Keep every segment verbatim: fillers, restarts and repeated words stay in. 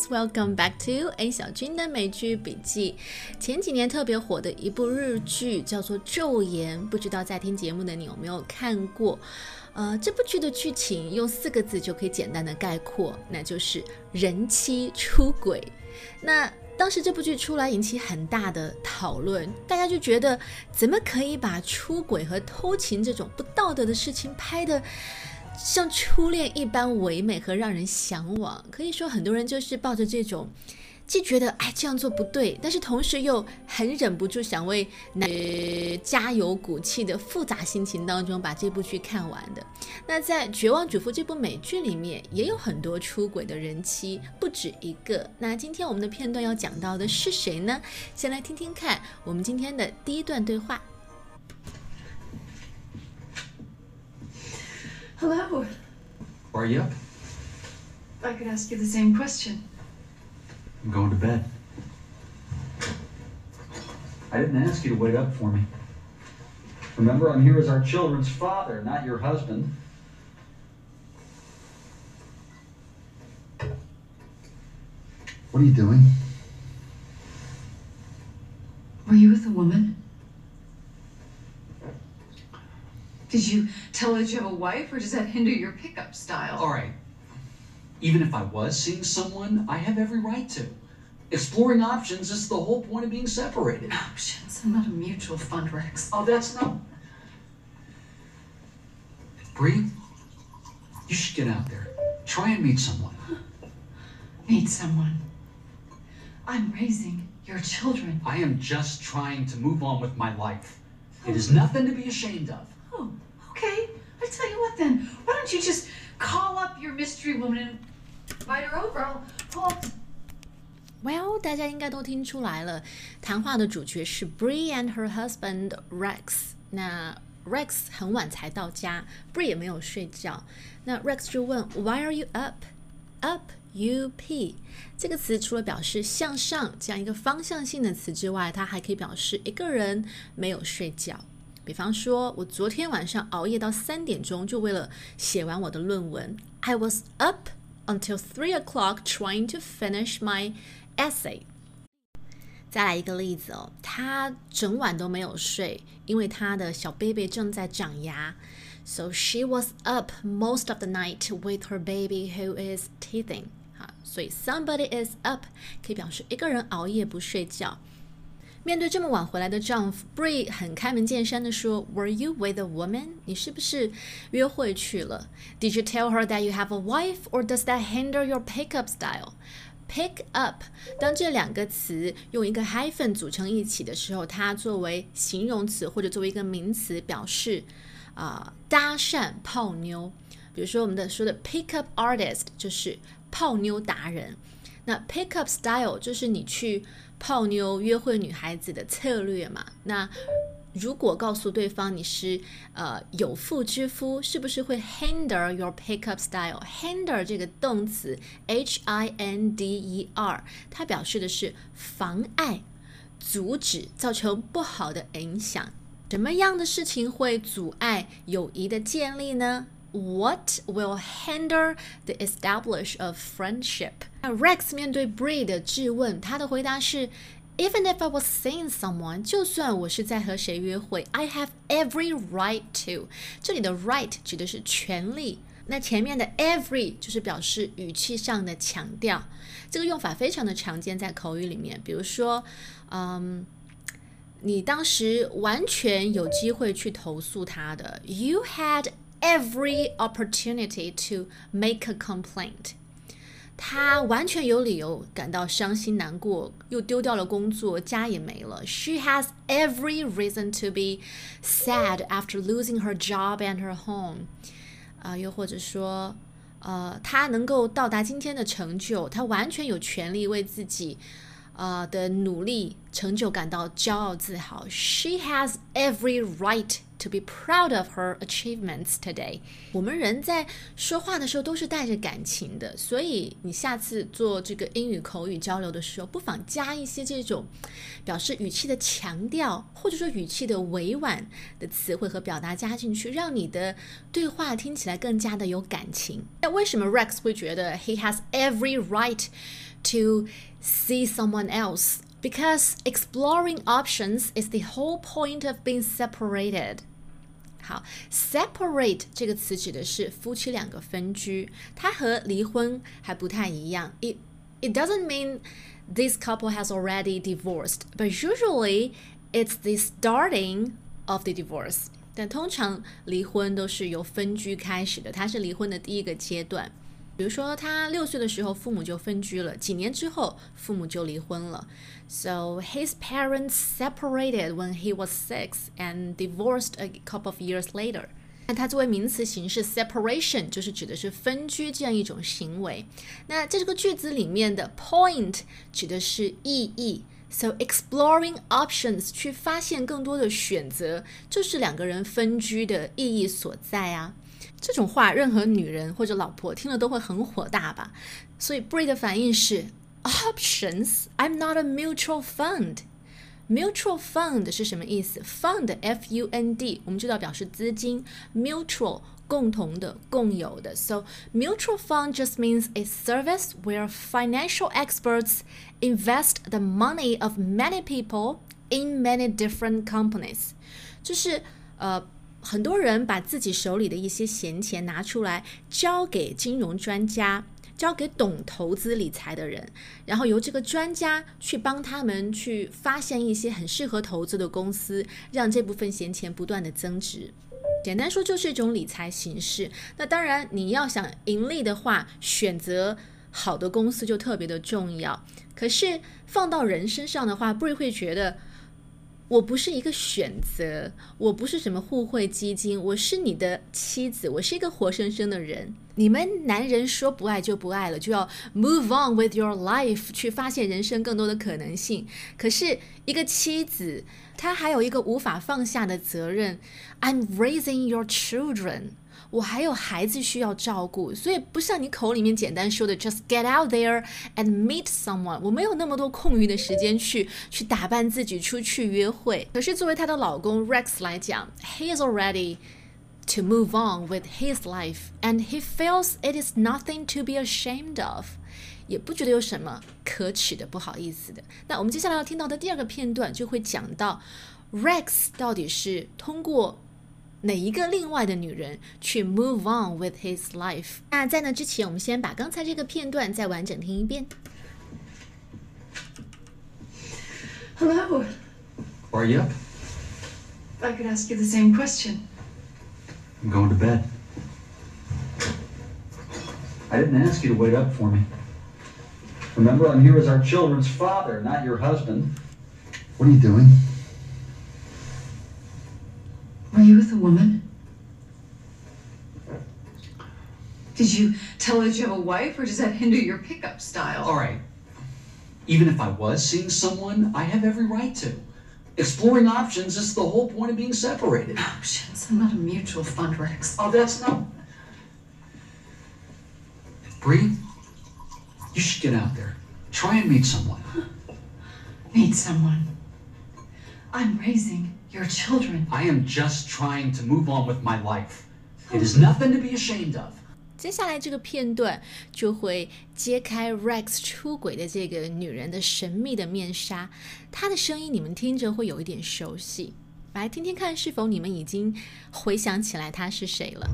Welcome back to A 小军的美剧笔记。前几年特别火的一部日剧叫做《昼颜》，不知道在听节目的你有没有看过？呃，这部剧的剧情用四个字就可以简单的概括，那就是人妻出轨。那当时这部剧出来引起很大的讨论，大家就觉得怎么可以把出轨和偷情这种不道德的事情拍得像初恋一般唯美和让人向往。可以说很多人就是抱着这种既觉得哎这样做不对，但是同时又很忍不住想为男加油鼓气的复杂心情当中把这部剧看完的。那在《绝望主妇》这部美剧里面也有很多出轨的人妻，不止一个。那今天我们的片段要讲到的是谁呢？先来听听看我们今天的第一段对话。 Hello. Are you up? I could ask you the same question. I'm going to bed. I didn't ask you to wait up for me. Remember, I'm here as our children's father, not your husband. What are you doing? Were you with a woman? Did you tell her that you have a wife, or does that hinder your pickup style? All right. Even if I was seeing someone, I have every right to. Exploring options is the whole point of being separated. Options? I'm not a mutual fund, Rex. Oh, that's not... Bree, you should get out there. Try and meet someone. Meet someone. I'm raising your children. I am just trying to move on with my life. It is nothing to be ashamed of. Oh, okay. I tell you what then. Why don't you just call up your mystery woman and invite her over? I'll pull up. Well, 大家应该都听出来了，谈话的主角是 Bree and her husband Rex。那 Rex 很晚才到家， Bree 也没有睡觉。那 Rex 就问 Why are you up? Up, U P 这个词除了表示向上这样一个方向性的词之外，它还可以表示一个人没有睡觉。比方说我昨天晚上熬夜到三点钟，就为了写完我的论文。 I was up until three o'clock trying to finish my essay。 再来一个例子哦，他整晚都没有睡，因为他的小 baby 正在长牙。 So she was up most of the night with her baby who is teething。 所以 somebody is up 可以表示一个人熬夜不睡觉。面对这么晚回来的丈夫 Bree 很开门见山地说 Were you with a woman? 你是不是约会去了？ Did you tell her that you have a wife, or does that hinder your pickup style? Pick up 当这两个词用一个 hyphen 组成一起的时候，它作为形容词或者作为一个名词表示、呃、搭讪泡妞。比如说我们的说的 pick up artist 就是泡妞达人。那 pick up style 就是你去泡妞约会女孩子的策略嘛。那如果告诉对方你是呃有妇之夫，是不是会 hinder your pickup style？ hinder 这个动词 H I N D E R 它表示的是妨碍、阻止、造成不好的影响。什么样的事情会阻碍友谊的建立呢？ What will hinder the establish of friendship？ Rex 面对 Bree 的质问，他的回答是 Even if I was seeing someone， 就算我是在和谁约会 I have every right to。 这里的 right 指的是权利，那前面的 every 就是表示语气上的强调。这个用法非常的常见在口语里面，比如说嗯你当时完全有机会去投诉他的 You had every opportunity to make a complaint。 他完全有理由感到伤心难过，又丢掉了工作，家也没了。 She has every reason to be sad after losing her job and her home、呃、又或者说呃，他能够到达今天的成就，他完全有权利为自己呃的努力成就感到骄傲自豪。 She has every right to be proud of her achievements today。 我们人在说话的时候都是带着感情的，所以你下次做这个英语口语交流的时候，不妨加一些这种表示语气的强调，或者说语气的委婉的词汇和表达加进去，让你的对话听起来更加的有感情。那为什么 Rex 会觉得 he has every right to see someone else because exploring options is the whole point of being separated. 好 ，separate 这个词指的是夫妻两个分居，它和离婚还不太一样。It it doesn't mean this couple has already divorced, but usually it's the starting of the divorce. 但通常离婚都是由分居开始的，它是离婚的第一个阶段。比如说，他六岁的时候，父母就分居了，几年之后，父母就离婚了。So his parents separated when he was six and divorced a couple of years later. 那它作为名词形式 separation 就是指的是分居这样一种行为。那在这个句子里面的 point 指的是意义。So exploring options 去发现更多的选择，就是两个人分居的意义所在啊。这种话任何女人或者老婆听了都会很火大吧，所以 Brie 的反应是 Options? I'm not a mutual fund. Mutual fund 是什么意思？ Fund F U N D 我们知道表示资金， Mutual 共同的共有的 So mutual fund just means a service where financial experts invest the money of many people in many different companies 就是呃很多人把自己手里的一些闲钱拿出来交给金融专家，交给懂投资理财的人，然后由这个专家去帮他们去发现一些很适合投资的公司，让这部分闲钱不断的增值。简单说就是一种理财形式。那当然你要想盈利的话，选择好的公司就特别的重要。可是放到人身上的话，Brie会觉得我不是一个选择，我不是什么互惠基金，我是你的妻子，我是一个活生生的人。你们男人说不爱就不爱了，就要 move on with your life 去发现人生更多的可能性。可是一个妻子，她还有一个无法放下的责任 I'm raising your children， 我还有孩子需要照顾，所以不像你口里面简单说的 just get out there and meet someone， 我没有那么多空余的时间去去打扮自己出去约会。可是作为她的老公 Rex 来讲 he is already to move on with his life and he feels it is nothing to be ashamed of， 也不觉得有什么可耻的不好意思的。那我们接下来要听到的第二个片段就会讲到 Rex 到底是通过哪一个另外的女人去 move on with his life。 那在那之前我们先把刚才这个片段再完整听一遍。 Hello. Are you up? If I could ask you the same question. I'm going to bed. I didn't ask you to wait up for me. Remember, I'm here as our children's father, not your husband. What are you doing? Were you with a woman? Did you tell her that you have a wife, or does that hinder your pickup style? All right. Even if I was seeing someone, I have every right to. Exploring options is the whole point of being separated. Options? I'm not a mutual fund, Rex. Oh, that's not... Brie, you should get out there. Try and meet someone. Meet someone. I'm raising your children. I am just trying to move on with my life. It is nothing to be ashamed of. 接下来这个片段就会揭开 Rex 出轨的这个女人的神秘的面纱，她的声音你们听着会有一点熟悉，来听听看是否你们已经回想起来她是谁了。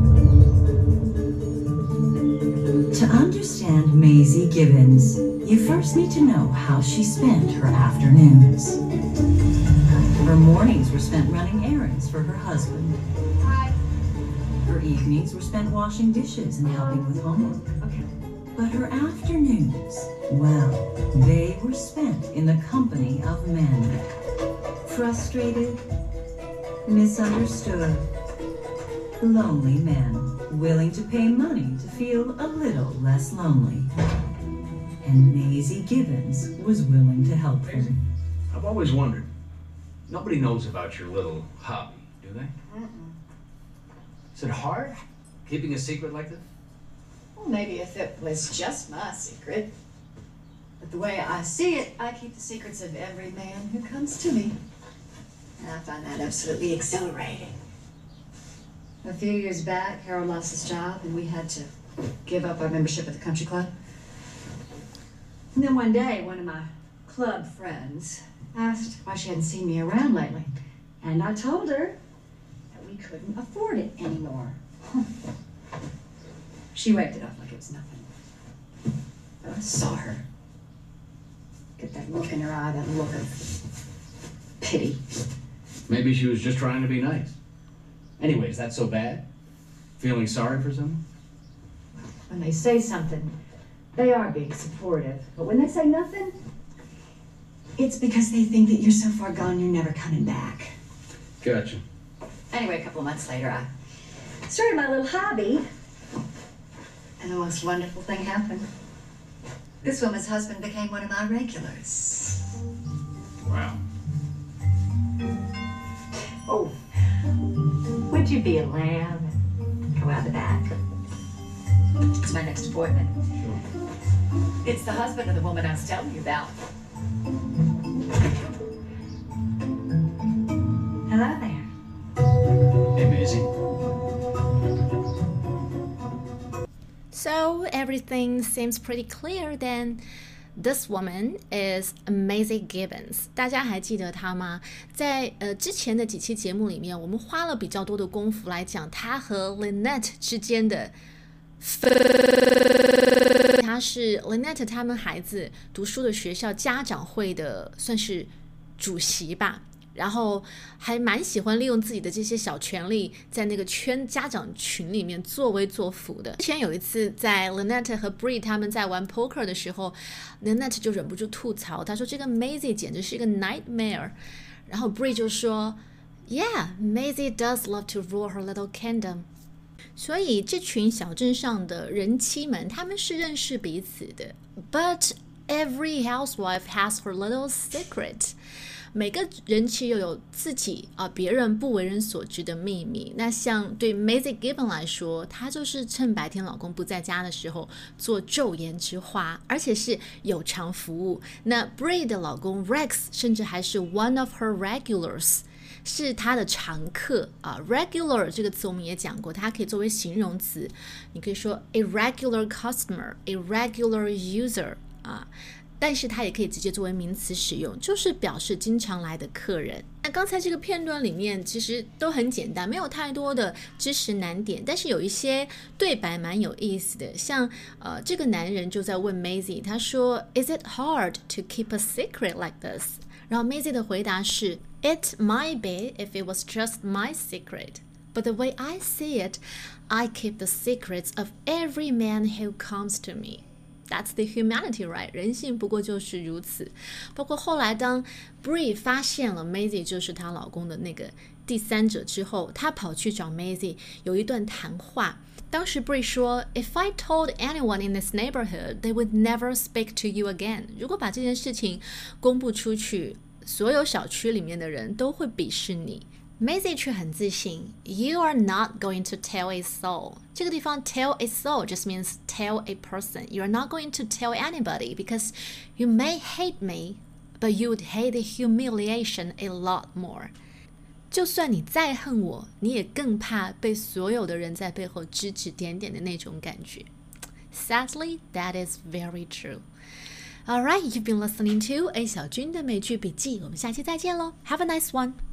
To understand Maisie Gibbons, you first need to know how she spent her afternoons. Her mornings were spent running errands for her husband. Hi. Her evenings were spent washing dishes and helping with homework. Okay. But her afternoons, well, they were spent in the company of men. Frustrated, misunderstood, lonely men, willing to pay money to feel a little less lonely. And Maisie Gibbons was willing to help them. I've always wondered. Nobody knows about your little hobby, do they? Mm-mm. Is it hard, keeping a secret like this? Well, maybe if it was just my secret. But the way I see it, I keep the secrets of every man who comes to me. And I find that absolutely exhilarating. A few years back, Harold lost his job, and we had to give up our membership at the country club. And then one day, one of my club friends asked why she hadn't seen me around lately. And I told her that we couldn't afford it anymore. She waved it off like it was nothing. But I saw her. Get that look in her eye, that look of pity. Maybe she was just trying to be nice. Anyway, is that so bad? Feeling sorry for someone? When they say something, they are being supportive. But when they say nothing, it's because they think that you're so far gone you're never coming back. Gotcha. Anyway, a couple of months later, I started my little hobby. And the most wonderful thing happened. This woman's husband became one of my regulars. Wow. Oh, would you be a lamb and go out the back? It's my next appointment. Sure. It's the husband of the woman I was telling you about. Hello there. Hey, Maisie. So everything seems pretty clear then. This woman is Maisie Gibbons. 大家还记得她吗？在呃之前的几期节目里面，我们花了比较多的功夫来讲她和 Lynette 之间的分。她是 Lynette 他们孩子读书的学校家长会的算是主席吧。然后还蛮喜欢利用自己的这些小权利，在那个圈家长群里面作威作福的。之前有一次在 Lynette 和 Bree 他们在玩 poker 的时候， Lynette 就忍不住吐槽，他说这个 Maisie 简直是一个 nightmare。然后 Bree 就说 Yeah, Maisie does love to rule her little kingdom。 所以这群小镇上的人妻们，他们是认识彼此的。But every housewife has her little secret。每个人妻又有自己啊别人不为人所知的秘密。那像对 Maisie Gibbons 来说，她就是趁白天老公不在家的时候做昼颜之花，而且是有偿服务。那 Bree 的老公 Rex 甚至还是 one of her regulars， 是她的常客啊。regular 这个词我们也讲过，它可以作为形容词，你可以说 a regular customer，a regular user 啊。但是它也可以直接作为名词使用，就是表示经常来的客人。那刚才这个片段里面其实都很简单，没有太多的知识难点，但是有一些对白蛮有意思的。像呃，这个男人就在问 Maisie， 他说 Is it hard to keep a secret like this？ 然后 Maisie 的回答是 It might be if it was just my secret. But the way I see it, I keep the secrets of every man who comes to me.That's the humanity, right? 人性不过就是如此。包括后来当 Bree 发现了 Maisie 就是她老公的那个第三者之后，她跑去找 Maisie 有一段谈话。当时 Bree 说 If I told anyone in this neighborhood, they would never speak to you again. 如果把这件事情公布出去，所有小区里面的人都会鄙视你。Maisie 却很自信 You are not going to tell a soul. 这个地方 tell a soul just means tell a person. You are not going to tell anybody because you may hate me, but you would hate the humiliation a lot more. 就算你再恨我，你也更怕被所有的人在背后指指点点的那种感觉。Sadly, that is very true. Alright, you've been listening to A 小军的美剧笔记，我们下期再见喽 Have a nice one!